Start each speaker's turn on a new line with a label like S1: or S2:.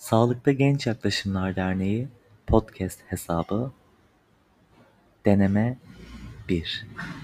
S1: Sağlıkta Genç Yaklaşımlar Derneği Podcast hesabı Deneme 1